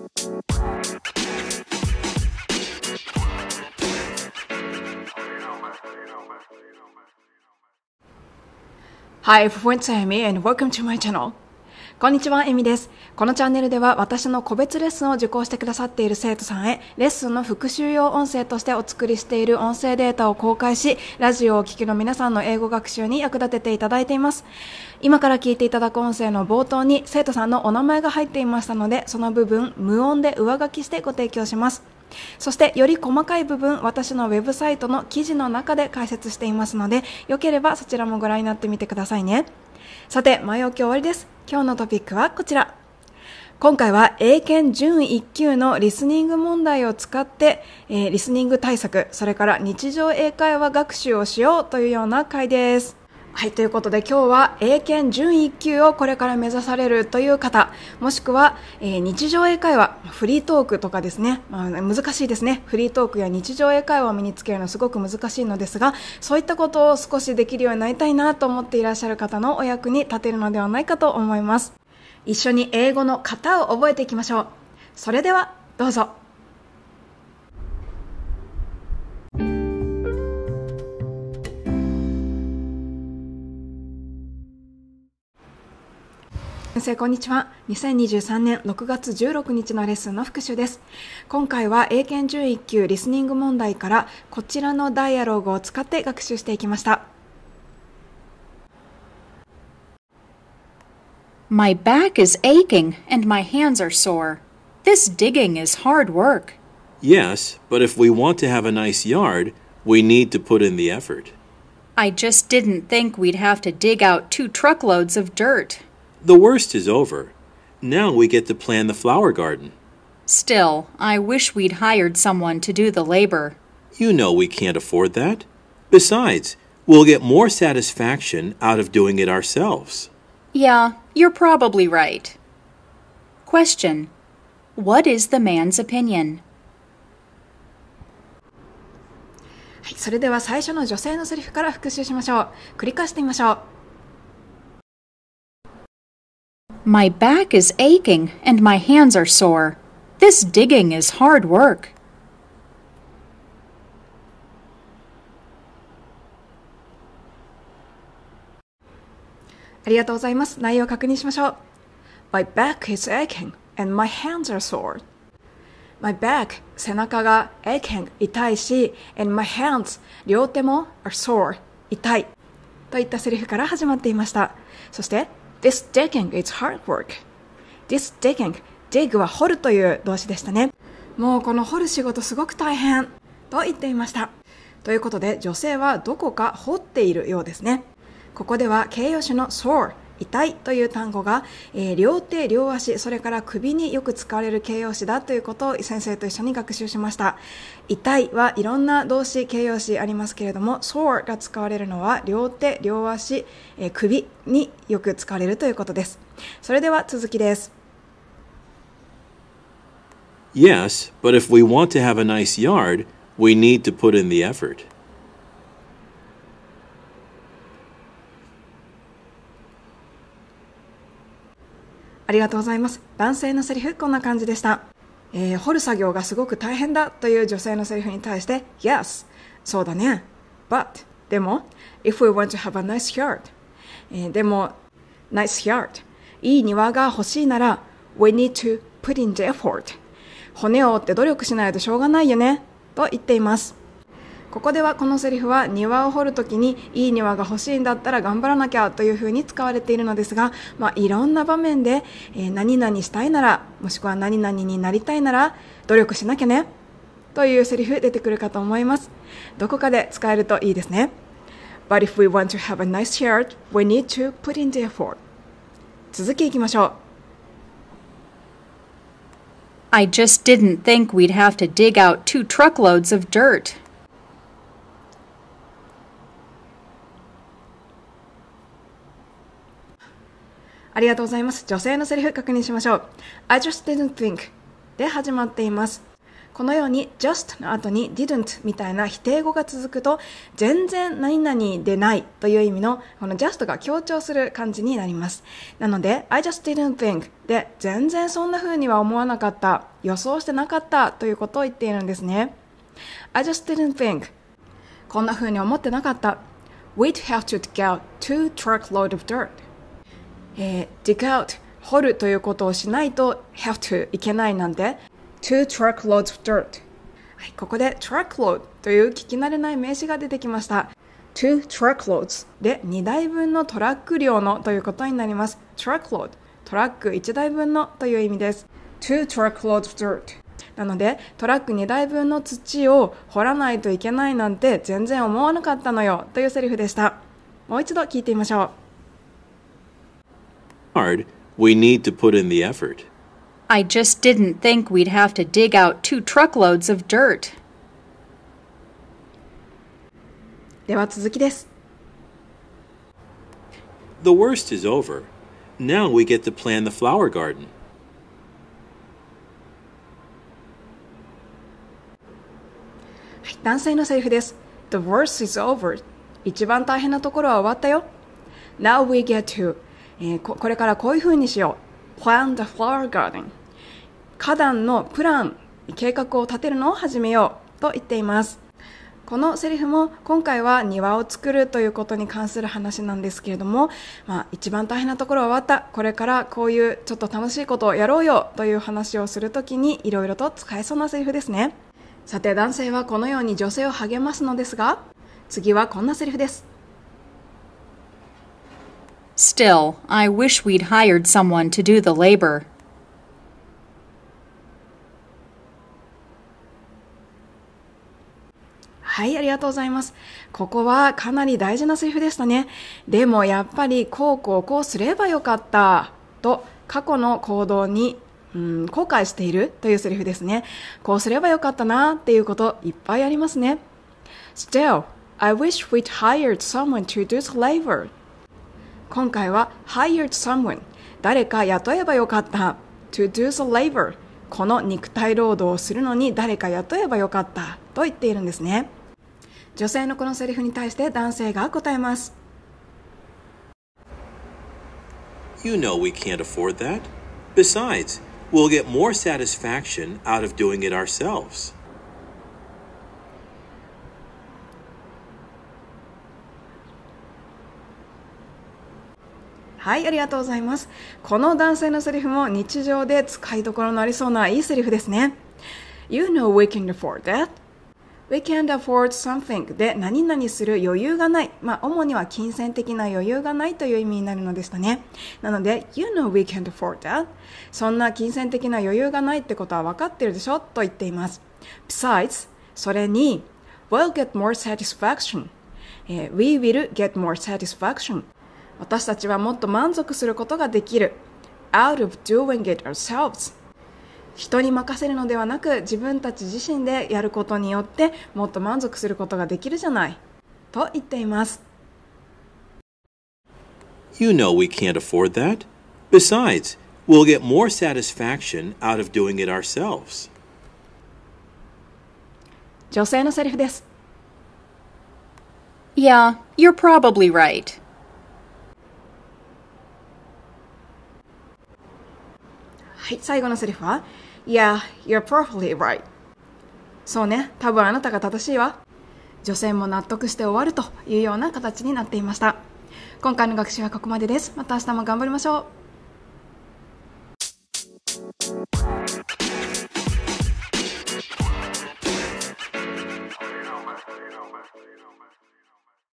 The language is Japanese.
Hi everyone, it's Amy and welcome to my channel. こんにちは、エミです。このチャンネルでは私の個別レッスンを受講してくださっている生徒さんへレッスンの復習用音声としてお作りしている音声データを公開し、ラジオをお聞きの皆さんの英語学習に役立てていただいています。今から聞いていただく音声の冒頭に生徒さんのお名前が入っていましたので、その部分無音で上書きしてご提供します。そしてより細かい部分、私のウェブサイトの記事の中で解説していますので、よければそちらもご覧になってみてくださいね。さて、前置き終わりです。今日のトピックはこちら。今回は英検準1級のリスニング問題を使って、リスニング対策、それから日常英会話学習をしようというような回です。はい、ということで今日は英検準1級をこれから目指されるという方、もしくは、日常英会話、フリートークとかですね、難しいですね。フリートークや日常英会話を身につけるのはすごく難しいのですが、そういったことを少しできるようになりたいなと思っていらっしゃる方のお役に立てるのではないかと思います。一緒に英語の型を覚えていきましょう。それではどうぞ。先生こんにちは。2023年6月16日のレッスンの復習です。今回は英検準1級リスニング問題からこちらのダイアログを使って学習していきました。 My back is aching and my hands are sore. This digging is hard work. Yes, but if we want to have a nice yard, we need to put in the effort. I just didn't think we'd have to dig out 2 truckloads of dirt. The worst is over. Now we get to plan the flower garden. Still, I wish we'd hired someone to do the labor. You know we can't afford that. Besides, we'll get more satisfaction out of doing it ourselves. Yeah, you're probably right. Question: What is the man's opinion? はい、それでは最初の女性のセリフから復習しましょう。繰り返してみましょう。 My back is aching and my hands are sore. This digging is hard work. ありがとうございます。内容を確認しましょう。My back is aching and my hands are sore. My back 背中が aching 痛いし and my hands 両手も are sore 痛いといったセリフから始まっていました。そして This digging is hard work. This digging dig は掘るという動詞でしたね。もうこの掘る仕事すごく大変と言っていました。ということで女性はどこか掘っているようですね。ここでは形容詞の sore 痛いという単語が、両手両足それから首によく使われる形容詞だということを先生と一緒に学習しました。痛いはいろんな動詞形容詞ありますけれども sore が使われるのは両手両足、首によく使われるということです。それでは続きです。 Yes, but if we want to have a nice yard, we need to put in the effort. ありがとうございます。男性のセリフこんな感じでした。掘る作業がすごく大変だという女性のセリフに対して Yes そうだね But でも If we want to have a nice yard、でも Nice yard いい庭が欲しいなら We need to put in the effort 骨を折って努力しないとしょうがないよねと言っています。ここではこのセリフは庭を掘るときにいい庭が欲しいんだったら頑張らなきゃというふうに使われているのですが、いろんな場面で、何々したいならもしくは何々になりたいなら努力しなきゃねというセリフ出てくるかと思います。どこかで使えるといいですね。But if we want to have a nice yard, we need to put in the effort. 続きいきましょう。 I just didn't think we'd have to dig out 2 truckloads of dirt. ありがとうございます。女性のセリフ確認しましょう。I just didn't think で始まっています。 このように just の後に didn't みたいな否定語が続くと全然何々でないという意味のこの just が強調する感じになります。なので I just didn't think で全然そんな風には思わなかった、予想してなかったということを言っているんですね。I just didn't think こんな風に思ってなかった。We'd have to dig out 2 truckload of dirt、dig out 掘るということをしないと have to いけないなんで2 truckloads of dirt、はい、ここで truckload という聞き慣れない名詞が出てきました。2 truckloads で2台分のトラック量のということになります。truckload トラック1台分のという意味です。2 truckloads of dirt なのでトラック2台分の土を掘らないといけないなんて全然思わなかったのよというセリフでした。もう一度聞いてみましょう。Hard, we need to put in the effort.I just didn't think we'd have to dig out 2 truckloads of dirt. では続きです。 The worst is over. Now we get to plan the flower garden. はい、男性のセリフです。The worst is over. 一番大変なところは終わったよ。Now we get to、これからこういう風にしよう。Plan the flower garden.花壇のプラン、計画を立てるのを始めようと言っています。このセリフも今回は庭を作るということに関する話なんですけれども、一番大変なところは終わった、これからこういうちょっと楽しいことをやろうよという話をするときにいろいろと使えそうなセリフですね。さて男性はこのように女性を励ますのですが、次はこんなセリフです。 Still, I wish we'd hired someone to do the labor. はい、ありがとうございます。ここはかなり大事なセリフでしたね。でもやっぱりこうすればよかったと過去の行動に後悔しているというセリフですね。こうすればよかったなっていうこといっぱいありますね。Still, I wish we'd hired someone to do the labor. 今回は hired someone 誰か雇えばよかった to do the labor この肉体労働をするのに誰か雇えばよかったと言っているんですね。女性のこのセリフに対して男性が答えます。 You know we can't afford that. Besides, we'll get more satisfaction out of doing it ourselves. はい、ありがとうございます。この男性のセリフも日常で使いどころのありそうないいセリフですね。You know we can't afford that.We can't afford something で何々する余裕がない、主には金銭的な余裕がないという意味になるのでしたね。なので You know we can't afford that そんな金銭的な余裕がないってことは分かってるでしょと言っています。 Besides それに We'll get more satisfaction、We will get more satisfaction 私たちはもっと満足することができる Out of doing it ourselves人に任せるのではなく自分たち自身でやることによってもっと満足することができるじゃないと言っています。 You know we can't afford that. Besides, we'll get more satisfaction out of doing it ourselves. 女性のセリフです。 Yeah, you're probably right. はい、最後のセリフは Yeah, you're probably right. そうね、多分あなたが正しいわ。女性も納得して終わるというような形になっていました。今回の学習はここまでです。また明日も頑張りましょう。